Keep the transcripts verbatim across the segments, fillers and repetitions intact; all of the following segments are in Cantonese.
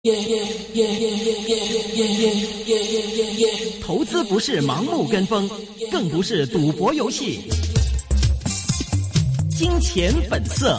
投资不是盲目跟风，更不是赌博游戏。金钱本色。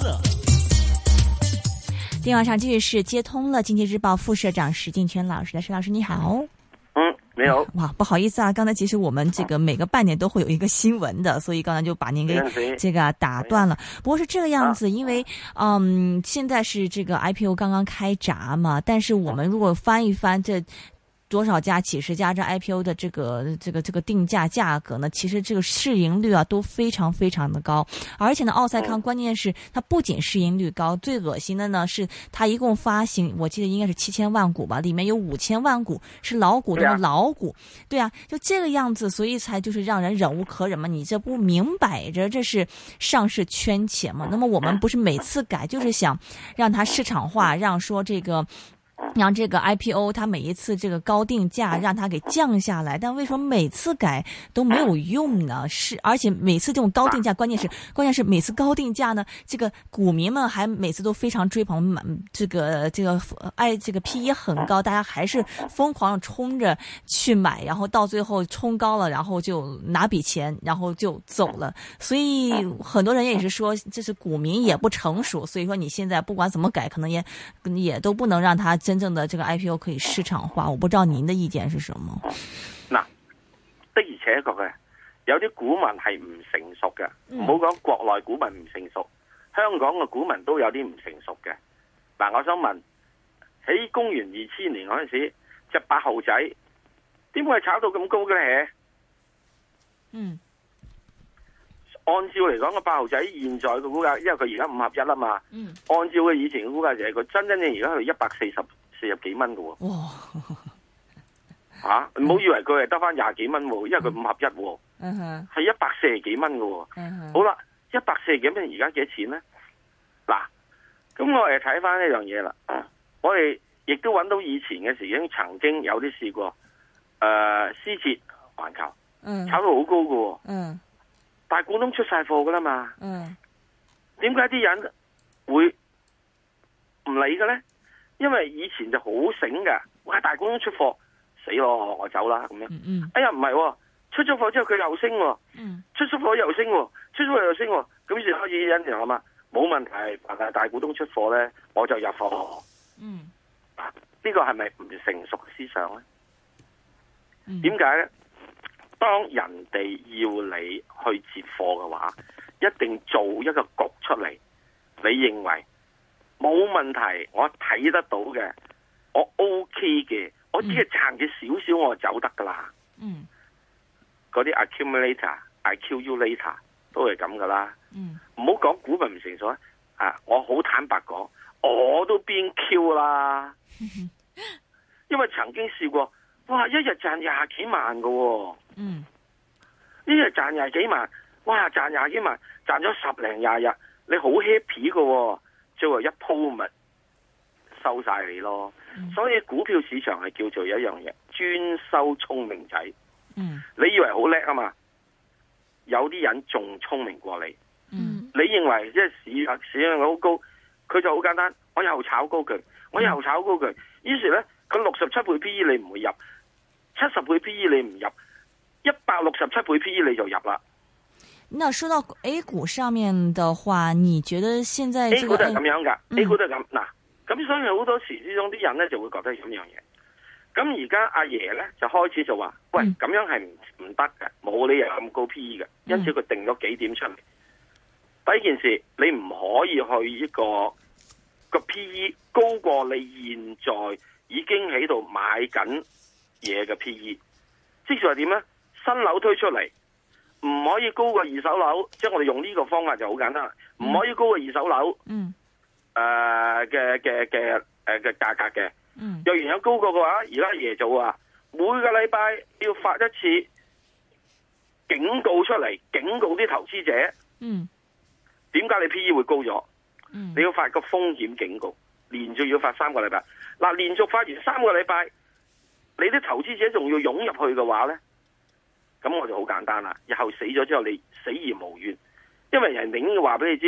电话上继续是接通了经济日报副社长石镜泉老师的，石老师你好。 嗯，你好。 哇，不好意思啊，刚才其实我们这个每个半年都会有一个新闻的，所以刚才就把您给这个打断了。不过是这个样子，因为嗯，现在是这个 I P O 刚刚开闸嘛，但是我们如果翻一翻这多少家、几十家这 I P O 的这个这个这个定价价格呢？其实这个市盈率啊都非常非常的高，而且呢，奥赛康关键是它不仅市盈率高，最恶心的呢是它一共发行，我记得应该是七千万股吧，里面有五千万股是老股东的老股，对啊，就这个样子，所以才就是让人忍无可忍嘛。你这不明摆着这是上市圈钱嘛？那么我们不是每次改就是想让它市场化，让说这个。让这个 I P O 它每一次这个高定价让它给降下来，但为什么每次改都没有用呢？是而且每次这种高定价，关键是关键是每次高定价呢，这个股民们还每次都非常追捧，这个这个爱这个 P E 很高，大家还是疯狂冲着去买，然后到最后冲高了，然后就拿笔钱，然后就走了。所以很多人也是说，这是股民也不成熟，所以说你现在不管怎么改，可能也也都不能让它真正的这個 I P O 可以市場化，我不知道您的意見是什麼？ 嗱，的而且確嘅，有啲股民係唔成熟嘅，唔好講國內股民唔成熟，香港嘅股民都有啲唔成熟嘅。嗱，我想問，喺公元二千年嗰陣時，隻八號仔點會炒到咁高嘅咧？ 嗯， 按照嚟講，個八號仔現在嘅股價，因為佢而家五合一啦嘛。嗯。按照佢以前嘅股價就係佢真真正而家係一百四十四十幾蚊嘅喎。哇！嚇！唔好以為佢係得翻廿幾蚊喎，因為佢五合一喎。嗯哼。係一百四十幾蚊嘅喎。嗯哼。好啦，一百四十幾蚊而家幾多錢咧？嗱，咁我哋睇翻呢樣嘢啦。我哋亦都揾到以前嘅時已經曾經有啲試過，誒、呃，思捷環球，嗯，炒到好高嘅喎。嗯。大股東出晒貨噶啦嘛，嗯，點解啲人會唔理嘅咧？因為以前就好醒嘅，哇！大股東出貨，死咯，我走啦咁樣。嗯嗯，哎呀，唔係、哦，出咗貨之後佢又升、哦，嗯，出咗貨又升、哦，出咗貨又升、哦，咁於是開始人就諗啊，冇問題，但係大股東出貨咧，我就入貨。嗯，呢、這個係咪唔成熟嘅思想咧？點解咧？當人哋要你去接貨嘅話，一定做一個局出嚟。你認為冇問題，我睇得到嘅，我 OK 嘅，我只係賺嘅少少，我就走得噶啦。嗯，嗰啲 accumulator、I Q U later 都係咁噶啦。嗯，唔好講股民唔成熟啊！我好坦白講，我都邊 Q 啦，因為曾經試過。哇！一日賺廿幾萬嘅、哦，嗯，一日賺廿幾萬，哇！賺廿幾萬，賺咗十零廿日，你好 happy 嘅、哦，最後一鋪咪收晒你咯。嗯、所以股票市場係叫做有一樣嘢，專收聰明仔。嗯，你以為好叻啊嘛？有啲人仲聰明過你。嗯，你認為即係市市盈率好高，佢就好簡單，我又炒高佢，我又炒高佢，嗯、於是咧佢六十七倍 P E 你唔會入。七十倍 P E 你唔入，一百六十七倍 P E 你就入啦。 那說到 A 股上面的話，你覺得現在、這個、A 股都係咁樣噶、嗯、，A 股都係咁嗱。咁所以好多時之中啲人咧就會覺得咁樣嘢。咁而家阿爺咧就開始就話，喂，咁樣係唔唔得嘅，冇理由咁高 P E 嘅，因此佢定咗幾點出嚟。第一件事，你唔可以去呢、這個個 P E 高過你現在已經喺度買緊嘢嘅 P E， 即係話點咧？新樓推出嚟唔可以高過二手樓，即係我哋用呢個方法就好簡單，唔、嗯、可以高過二手樓。嗯。誒嘅嘅嘅誒嘅價格嘅。嗯。若然有高過嘅話，而家爺做啊，每個禮拜要發一次警告出嚟，警告啲投資者。嗯。點解你 P E 會高咗？嗯。你要發個風險警告，連續要發三個禮拜。嗱，連續發完三個禮拜。你啲投資者仲要湧入去嘅話呢，咁我就好簡單啦。日後死咗之後，你死而無怨，因為人哋已經話俾你知，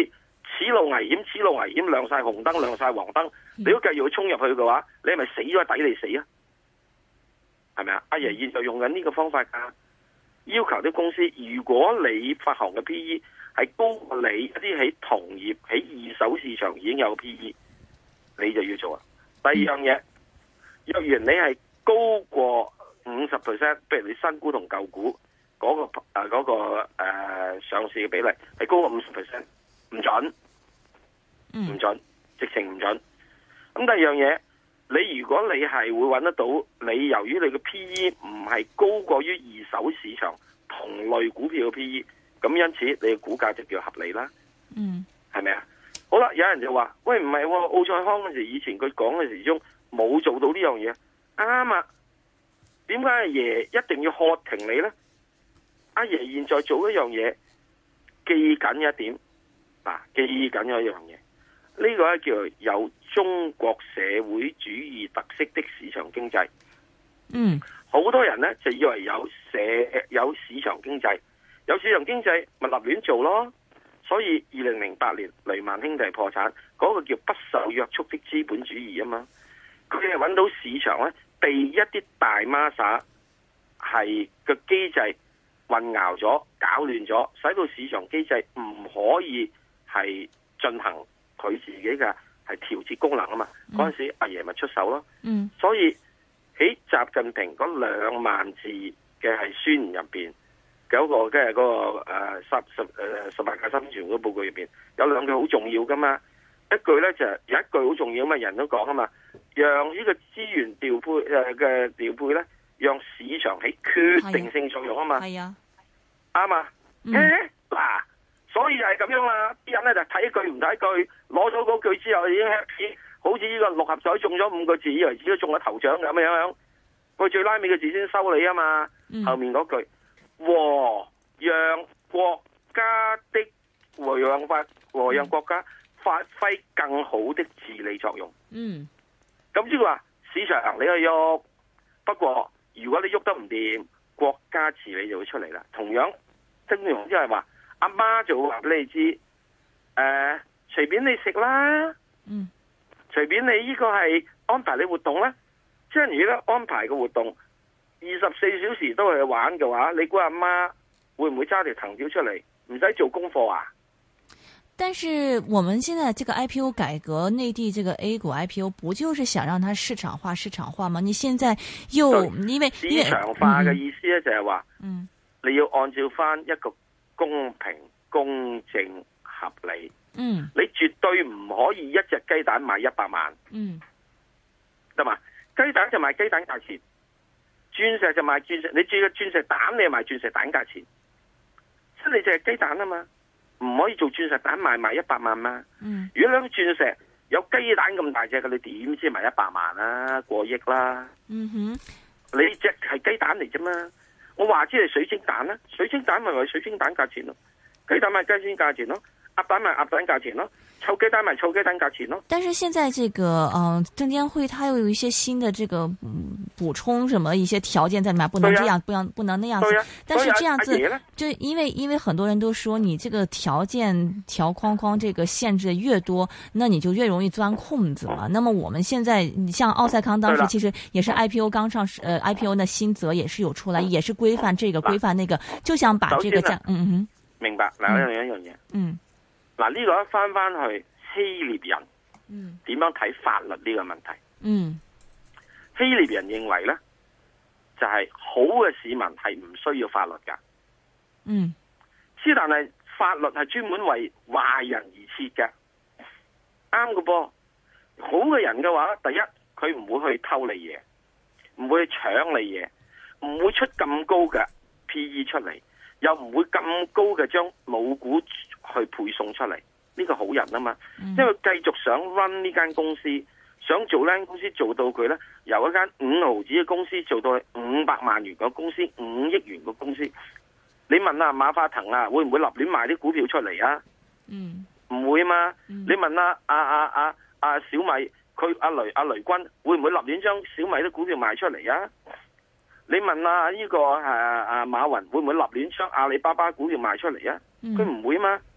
此路危險，此路危險，亮晒紅燈，亮晒黃燈，你都繼續衝入去嘅話，你係咪死咗抵你死啊？係咪啊？阿爺現在用緊呢個方法噶，要求啲公司，如果你發行嘅 P E 係高過你一啲喺同業喺二手市場已經有 P E， 你就要做啊。第二樣嘢，若然你係高過五十 percent， 譬如你新股同舊股嗰、那個誒、呃那個誒、呃、上市嘅比例係高過五十 percent， 唔准，唔准，直情唔准。咁第二樣嘢。你如果你係會揾得到，你由於你嘅 P E 唔係高過於二手市場同類股票嘅 P E， 咁因此你嘅股價就叫合理啦。嗯，係咪啊？好啦，有人就話：喂，唔係喎，奧賽康嗰時以前佢講嘅時鐘冇做到呢樣嘢，啱啊？點解阿爺一定要喝停你呢？阿爺現在做一樣嘢，記緊一點，嗱、啊，記緊咗一樣嘢。呢、這個咧叫做有中國社會主義特色的市場經濟。嗯，好多人咧就以為有社有市場經濟，有市場經濟咪立亂做咯。所以二零零八年雷曼兄弟破產，嗰、那個叫不受約束的資本主義啊嘛。佢哋揾到市場咧，被一啲大孖沙係個機制混淆咗、搞亂咗，使到市場機制唔可以係進行。佢自己嘅係調節功能啊嘛，嗰、嗯、陣時阿爺咪出手咯。嗯，所以喺習近平嗰兩萬字嘅係宣言入邊，有一個即係嗰個誒十十誒十八屆三中全會報告入邊有兩句好重要噶嘛。一句咧就係、有一句好重要嘛，人都講啊嘛，讓呢個資源調配誒嘅調配咧，讓市場起決定性作用啊嘛。係啊，啱啊。誒嗱。所以就係咁樣啦，啲人咧就睇一句唔睇一句，攞咗嗰句之後已經 happy， 好似呢個六合彩中咗五個字，以為自己中咗頭獎咁樣樣。佢最拉尾嘅字先收你啊嘛，嗯、後面嗰句和讓國家的和讓法和讓國家發揮更好的治理作用。嗯，咁即係話市場你去喐，不過如果你喐得唔掂，國家治理就會出嚟啦。同樣，正如即係話。阿媽就會話俾你知，誒、呃，隨便你食啦，嗯，隨便你呢個係安排你活動啦。即係如果安排個活動二十四小時都係去玩嘅話，你估阿媽會唔會揸條藤條出嚟，唔使做功課啊？ 但是我們現在這個 I P O 改革，內地這個 A 股 I P O 不就是想讓它市場化、市場化嗎？你現在又因為市場化嘅意思咧，就係話，嗯，你要按照翻一個。公平、公正、合理。嗯，你絕對唔可以一隻雞蛋賣一百萬。嗯，得嘛？雞蛋就賣雞蛋價錢，鑽石就賣鑽石。你住個鑽石蛋，你係賣鑽石蛋價錢。即係你就係雞蛋啊嘛，唔可以做鑽石蛋賣賣一百萬嘛。嗯，如果兩鑽石有雞蛋咁大隻嘅，你點知賣一百萬啊？過億啦。嗯哼，你隻係雞蛋嚟啫嘛。我話知係水晶蛋啦，水晶蛋咪為水晶蛋價錢咯，雞蛋賣雞蛋價錢咯，鴨蛋賣鴨蛋價錢咯，臭雞蛋賣臭雞蛋價錢咯。 但是現在這個，嗯、呃，證監會它又有一些新的這個，嗯，補充什麼一些條件在裏面，不能這樣，啊、不能不能那樣子。啊、但是這樣子，就因為因為很多人都說，你這個條件條框框這個限制越多，那你就越容易鑽空子嘛。嗯、那麼我們現在，你像奧賽康當時其實也是 I P O 剛上市，呃 I P O 的新則也是有出來，也是規範這個規範那個，就想把這個講，嗯哼， 明白。嗱，有一樣嘢，嗯。嗱，呢個一翻翻去希臘人，嗯，點樣睇法律呢個問題？嗯，希臘人認為咧，就係、是、好嘅市民係唔需要法律噶，嗯，之但係法律係專門為壞人而設嘅，啱嘅噃。好嘅人嘅話，第一佢唔會去偷你嘢，唔會去搶你嘢，唔會出咁高嘅 P E 出嚟，又唔會咁高嘅將老股去配送出嚟，呢、這個好人啊嘛，嗯、因為繼續想 run 呢間公司，想做呢間公司做到佢呢，由一間五毫子嘅公司做到去五百萬元嘅公司，五億元嘅公司。你問下、啊、馬化騰啊，會唔會立亂賣啲股票出嚟啊？嗯，唔會嘛。嗯、你問下阿阿阿阿小米，佢阿、啊、雷阿、啊、雷軍會唔會立亂將小米啲股票賣出嚟啊？你問下呢、這個誒誒、啊、馬雲會唔會立亂將阿里巴巴股票賣出嚟啊？佢唔、嗯、會嘛。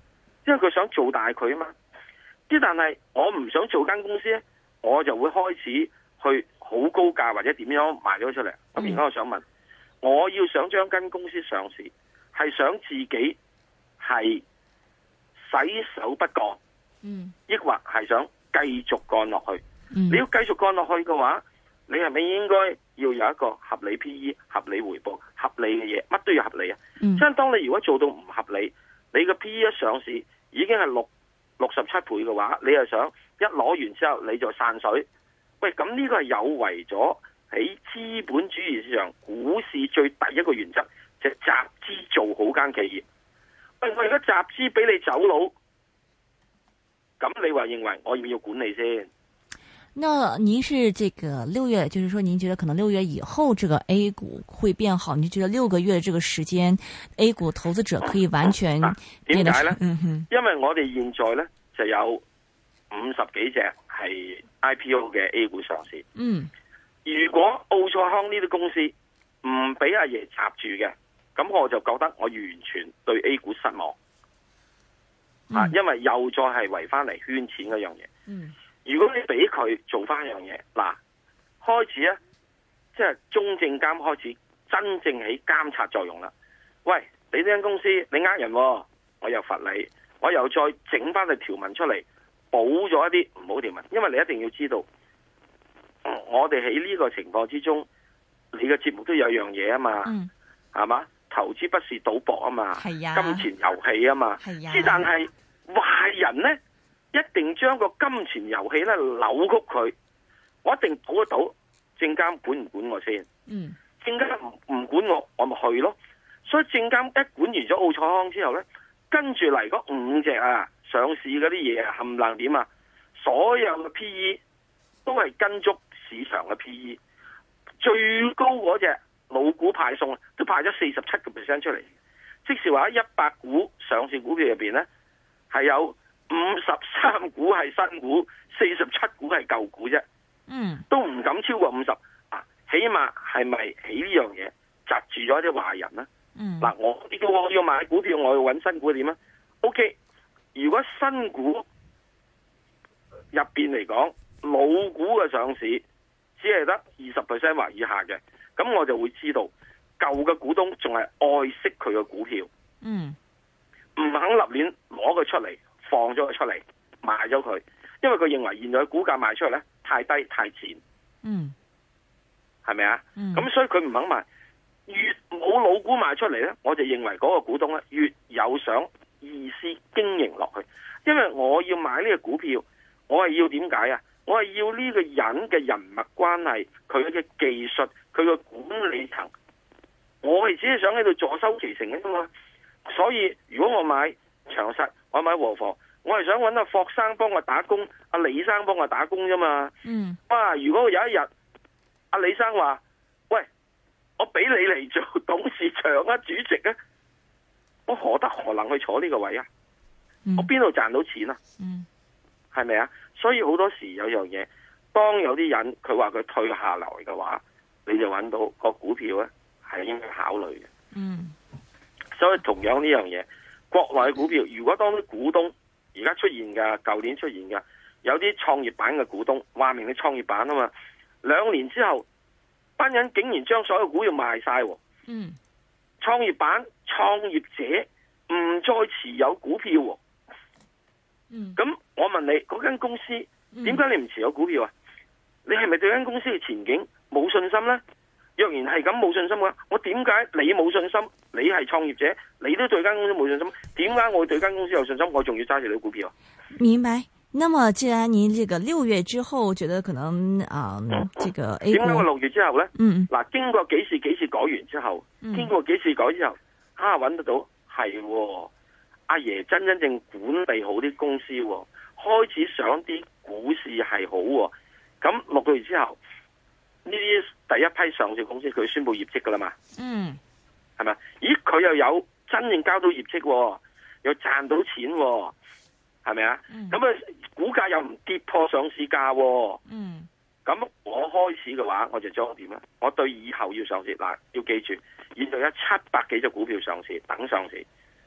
因為佢想做大佢啊嘛。之但係我唔想做間公司咧，我就會開始去好高價或者點樣賣咗出嚟。咁而家我想問，我要想將間公司上市，係想自己係洗手不幹，嗯，抑或係想繼續幹落去？嗯、你要繼續幹落去嘅話，你係咪應該要有一個合理 P E、合理回報、合理嘅嘢，乜都要合理啊？即係、嗯、當你如果做到唔合理，你個 P E 一上市已經係六六十七倍嘅話，你又想一攞完之後你就散水？喂，咁呢個係有違咗喺資本主義市場股市最第一個原則，就係、集資做好間企業。喂，我而家集資俾你走佬，咁你話認為我要唔要管理先？ 那您是這個六月，就是說您覺得可能六月以後這個 A 股會變好？你覺得六個月這個時間 A 股投資者可以完全點解呢？ 嗯哼， 因為我哋現在呢就有五十幾隻係 I P O 嘅 A 股上市。嗯，如果奧賽康呢啲公司唔俾阿爺插住嘅，咁我就覺得我完全對 A 股失望。啊、嗯，因為又再係圍翻嚟圈錢嗰樣嘢。嗯。如果你俾佢做翻一樣嘢，嗱，開始咧，即係中證監開始真正起監察作用啦。喂，你呢間公司你呃人，我又罰你，我又再整翻個條文出嚟，補咗一啲唔好條文。因為你一定要知道，我哋喺呢個情況之中，你嘅節目都有樣嘢啊嘛，係嘛、嗯？投資不是賭博啊嘛，係啊，金錢遊戲啊嘛，係啊。之但係壞人咧，一定將個金錢遊戲咧扭曲佢，我一定賭得到。證監管唔管我先？嗯，證監唔唔管我，我咪去咯。所以證監一管完咗奧賽康之後咧，跟住嚟嗰五隻啊上市嗰啲嘢啊，冚唪唥點啊？所有嘅 P E 都係跟足市場嘅 P E， 最高嗰隻老股派送都派咗四十七個 percent 出嚟，即是話喺一百股上市股票入邊咧，係有五十三股係新股，四十七股係舊股啫。嗯，都唔敢超過五十啊！起碼係咪起呢樣嘢窒住咗啲壞人呢？嗯，嗱，我呢個我要買股票，我要揾新股點啊 ？O K， 如果新股入邊嚟講，老股嘅上市只係得二十 percent 或以下嘅，咁我就會知道舊嘅股東仲係愛惜佢嘅股票，嗯，唔肯立亂攞佢出嚟，放咗佢出嚟，賣咗佢，因為佢認為現在嘅股價賣出嚟咧太低太賤，嗯，係咪啊？咁、嗯、所以佢唔肯賣，越冇老股賣出嚟咧，我就認為嗰個股東咧越有想意思經營落去，因為我要買呢個股票，我係要點解啊？我係要呢個人嘅人脈關係，佢嘅技術，佢嘅管理層，我係只係想喺度坐收其成嘅啫嘛。所以如果我買長實，我買和房，我係想揾阿霍生幫我打工，阿李生幫我打工啫嘛。嗯。哇！如果有一日阿李生話：喂，我俾你嚟做董事長啊、主席啊，我何德何能去坐呢個位啊？嗯、我邊度賺到錢啊？嗯。係咪啊？所以好多時有樣嘢，當有啲人佢話佢退下來嘅話，你就揾到個股票咧係應該考慮嘅。嗯。所以同樣呢樣嘢，國內嘅股票，如果當啲股東而家出現嘅，舊年出現嘅，有啲創業板嘅股東，話明你創業板啊嘛，兩年之後，班人竟然將所有股票賣晒。嗯。創業板創業者唔再持有股票。嗯。咁我問你，嗰間公司點解你唔持有股票啊？你係咪對間公司嘅前景冇信心呢？若然係咁冇信心嘅話，我點解你冇信心？你係創業者，你都對間公司冇信心，點解我對間公司有信心？我仲要揸住你股票啊？明白。那麼既然您這個六月之後覺得可能啊，嗯、這個 A 股點解我六月之後呢？嗯嗱，經過幾次幾次改完之後，嗯、經過幾次改之後，啊揾得到係、哦，阿爺真真正管理好啲公司、哦，開始上啲股市係好、哦，咁六個月之後。呢啲第一批上市公司佢宣布業績噶啦嘛，嗯，係咪？咦，佢又有真正交到業績、哦，又賺到錢、哦，係咪啊？咁啊、嗯，股價又唔跌破上市價、哦，嗯，咁我開始嘅話，我就將點咧？我對以後要上市嗱，要記住，現在有七百幾隻股票上市等上市，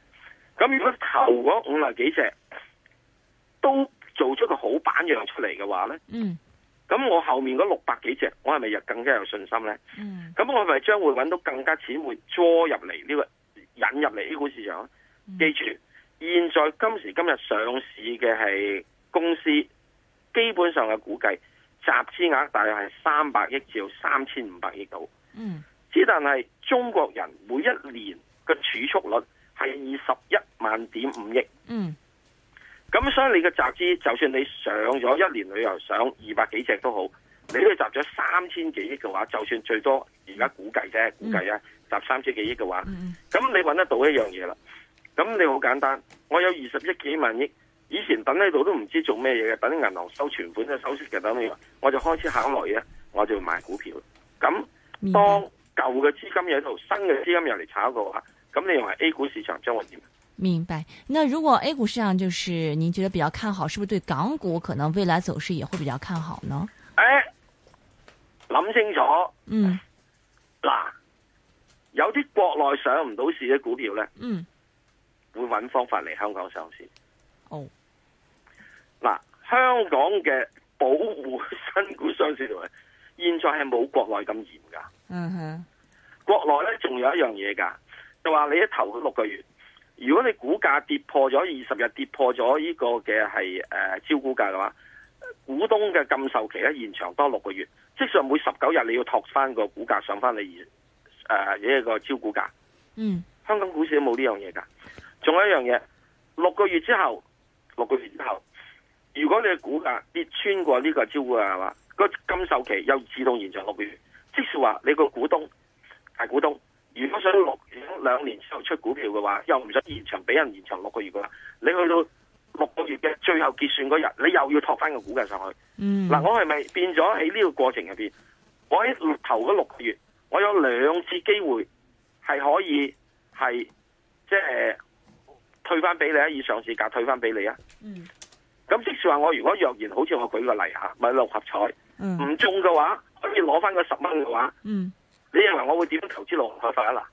咁如果頭嗰五十幾隻都做出個好版樣出嚟嘅話咧，嗯，咁我後面嗰六百幾隻，我係咪又更加有信心咧？嗯，咁我係咪將會揾到更加錢會捉入嚟呢個引入嚟 A 股市場？嗯、記住，現在今時今日上市嘅係公司，基本上嘅估計集資額大約係三百億至到三千五百億度。嗯，只但係中國人每一年嘅儲蓄率係二十一萬點五億。嗯。咁所以你嘅集資，就算你上咗一年旅遊上二百幾隻都好，你都集咗三千幾億嘅話，就算最多而家估計啫，估計啊，集三千幾億嘅話，咁、嗯、你揾得到一樣嘢啦。咁你好簡單，我有二十億幾萬億，以前等喺度都唔知做咩嘢嘅，等銀行收存款嘅收息嘅，等你，我就開始考慮啊，我就買股票。咁當舊嘅資金喺度，新嘅資金入嚟炒嘅話，咁你認為 A 股市場將會點？ 明白。那如果 A 股市場就是您覺得比較看好，是不是對港股可能未來走勢也會比較看好呢？ 誒、欸，諗清楚。嗯。嗱，有啲國內上唔到市嘅股票咧，嗯，會揾方法嚟香港上市。哦。嗱，香港嘅保護新股上市條例，現在係冇國內咁嚴噶。嗯哼。國內咧仲有一樣嘢噶，就話你一頭六個月。如果你股價跌破咗二十日，跌破咗呢個嘅係誒招股價嘅話，股東嘅禁售期咧延長多六個月，即係每十九日你要托翻個股價上翻你誒呢一個招股價。嗯，香港股市都冇呢樣嘢噶。仲有一樣嘢，六個月之後，六個月之後，如果你嘅股價跌穿過呢個招股價嘅話，個禁售期又自動延長六個月，即係話你個股東大股東。如果想六兩年之後出股票嘅話，又唔想延長，俾人延長六個月嘅話，你去到六個月嘅最後結算嗰日，你又要托翻個股價上去。嗯，嗱，我係咪變咗喺呢個過程入邊？我喺頭嗰六個月，我有兩次機會係可以係即係退翻俾你啊，以上市價退翻俾你啊。嗯，咁即係話我如果若然好似我舉個例吓，買六合彩，唔、嗯、中嘅話，可以攞翻個十蚊嘅話，嗯。你認為我會點樣投資六合彩啊？嗱，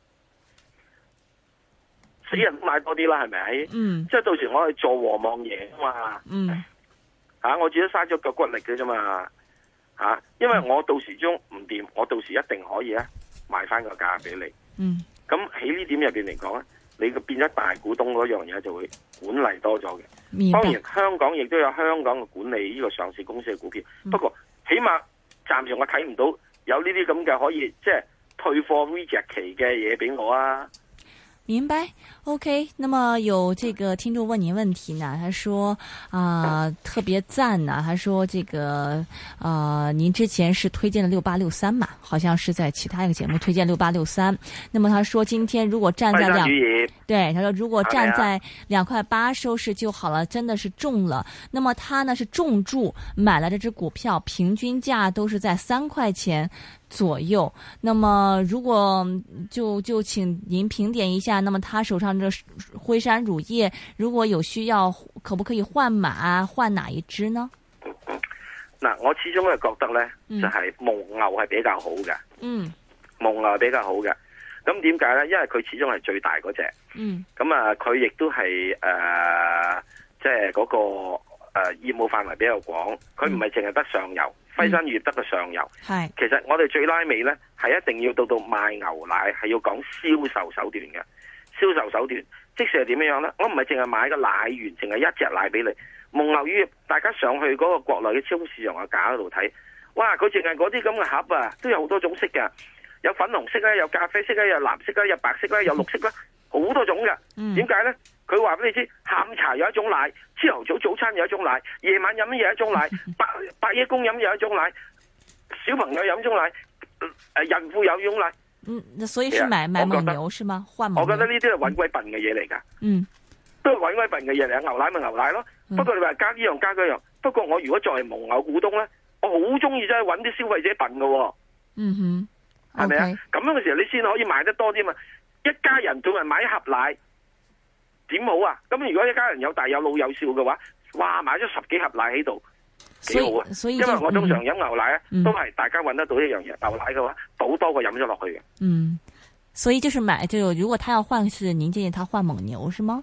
死人都買多啲啦，係咪？嗯，即係到時我去做和望贏啊嘛。嗯，吓、啊、我自己嘥咗腳骨力嘅啫嘛。吓、啊，因為我到時中唔掂，我到時一定可以咧賣翻個價俾你。嗯，咁喺呢點入邊嚟講咧，你個變咗大股東嗰樣嘢就會管理多咗嘅。當然，香港亦都有香港嘅管理呢個上市公司嘅股票。嗯、不過起碼暫時我睇唔到。有呢啲咁嘅可以即係退貨 reject 期嘅嘢俾我啊！ 明白 ，OK。那麼有這個聽眾問您問題呢，他說啊、呃，特別讚呢，他說這個啊、呃，您之前是推薦了六八六三嘛，好像是在其他一個節目推薦六八六三。那麼他說今天如果站在兩，對，他說如果站在兩塊八收市就好了，真的是中了。那麼他呢是重注買了這隻股票，平均價都是在三塊錢左右。那麼如果就就請您評點一下，那麼他手上這輝山乳業如果有需要，可不可以換碼？換哪一支呢？ 嗱，我始終係覺得咧、嗯，就係、是、蒙牛係比較好嘅。嗯，蒙牛係比較好嘅。咁點解咧？因為佢始終係最大嗰隻。嗯。咁啊，佢亦都係誒，即係嗰個誒、呃、業務範圍比較廣。佢唔係淨係得上游。嗯輝山乳業得個上游，係其實我哋最拉尾咧，係一定要到到賣牛奶，係要講銷售手段嘅。銷售手段，即使係點樣樣咧？我唔係淨係買個奶源，淨係一隻奶俾你。蒙牛乳業，大家上去嗰個國內嘅超級市場嘅架嗰度睇，哇！佢淨係嗰啲咁嘅盒啊，都有好多種色嘅，有粉紅色啦，有咖啡色啦，有藍色啦，有白色啦，有綠色啦，好多種嘅。點解咧？佢話俾你知，下午茶有一種奶，朝頭早早餐有一種奶，夜晚飲有一種奶，白白夜公飲有一種奶，小朋友飲一種奶，誒孕婦有一種奶。 嗯，所以是買買蒙牛是嗎？換蒙牛？ 我覺得呢啲係搵鬼笨嘅嘢嚟噶。嗯，都係搵鬼笨嘅嘢嚟。牛奶咪牛奶咯。嗯、不過你話加呢樣加嗰樣。不過我如果作為蒙牛股東咧，我好中意真係搵啲消費者笨噶。嗯哼，係咪啊？咁樣嘅時候你先可以賣得多啲嘛。一家人仲係買一盒奶。點好啊？咁如果一家人有大有老有少嘅話，哇，買咗十幾盒奶喺度，幾好啊！所以因為我通常飲牛奶咧、嗯，都係大家搵得到一樣嘢、嗯。牛奶嘅話，倒多過飲咗落去嘅。嗯， 所以就是買，就如果他要換，是您建議他換蒙牛是嗎？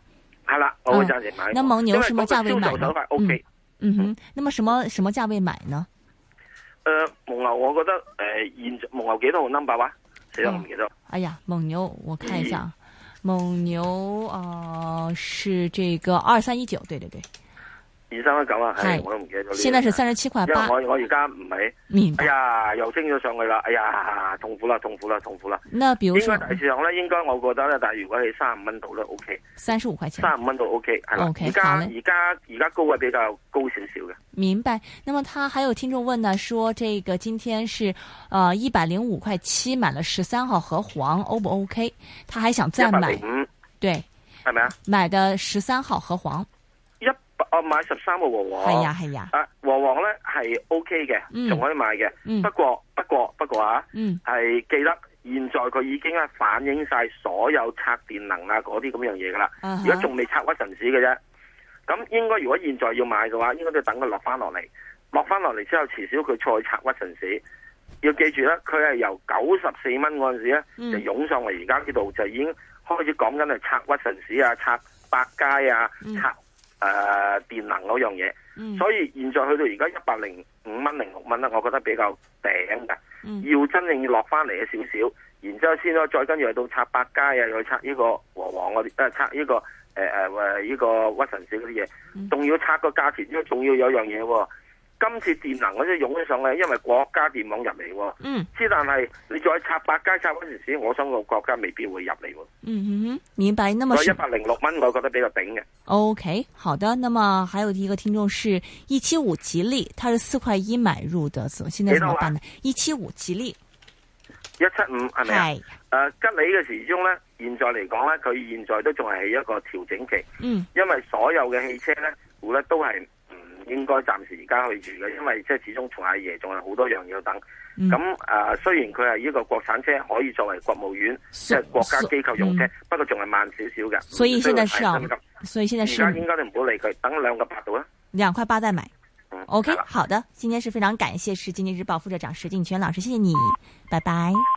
係啦，我會暫時買。 那蒙牛什麼價位買呢？ 手法 OK。 嗯哼，那麼什麼什麼價位買呢？ 誒、呃，蒙牛我覺得誒、呃，現蒙牛幾多號 number 話？死啦，我唔記得。 哎呀，蒙牛我看一下，嗯、蒙牛啊、呃、是這個二三一九，對對對。 二三一九啊，係我都唔記得咗。 現在是三十七塊八。 因為我我而家唔係， 明白。 哎呀，又升咗上去啦！哎呀，痛苦啦，痛苦啦，痛苦啦。 那比如說， 應該大市場咧，應該我覺得咧，但係如果你三十五蚊度咧 ，OK。三十五塊錢。 三十五蚊度 OK，係啦。 OK， 而家而家而家高位比較高少少嘅。 明白。那麼他還有聽眾問呢，說這個今天是呃一百零五塊七買了十三號和黃，O 不 OK？他還想再買。一百零五。對。係咪啊？買的十三號和黃。我買十三個和黃，係呀係呀，啊和黃咧係 O K 嘅，仲、嗯、可以買嘅、嗯。不過不過不過啊，係、嗯、記得現在佢已經係反映晒所有拆電能啊嗰啲咁樣嘢噶啦。而家仲未拆屈臣氏嘅啫。咁應該如果現在要買嘅話，應該都要等佢落翻落嚟，落翻落嚟之後，遲少佢再拆屈臣氏。要記住咧，佢係由九十四蚊嗰陣時咧、嗯、就湧上嚟，而家呢度就已經開始講緊係拆屈臣氏啊，拆百佳啊，嗯、拆。誒、呃，電能嗰樣嘢、嗯，所以現在去到而家一百零五蚊、零六蚊咧，我覺得比較頂嘅、嗯。要真正要落翻嚟嘅少少，然之後先咯，再跟住去到拆百佳啊，又去拆呢個和黃嗰啲，誒拆呢個誒誒誒呢個屈臣氏嗰啲嘢，仲、嗯、要拆個價錢，因為仲要有樣嘢喎。今次電能嗰啲湧咗上嚟，因為國家電網入嚟，嗯，之但係你再拆百佳、拆嗰陣時，我相信國家未必會入嚟。 嗯哼，明白。那麼一百零六蚊，我覺得比較頂嘅。 OK， 好的。那麼還有一個聽眾是一七五吉利，他是四塊一買入的，現在怎麼辦呢？一七五吉利，一七五係咪啊？誒、呃，吉利嘅時鐘咧，現在嚟講咧，佢現在都仲係一個調整期。嗯，因為所有嘅汽車咧，股咧都係。應該暫時而家去住嘅，因為即係始終從阿爺仲有好多樣要等。咁、嗯、誒、呃，雖然佢係呢個國產車，可以作為國務院即係、就是、國家機構用車，嗯、不過仲係慢少少嘅。所以現在是啊，所以現在是而家應該都唔好理佢，等兩個八度啦，兩塊八再買。嗯、OK，好的，今天是非常感謝是《經濟日報》副社長石鏡泉老師，謝謝你，拜拜。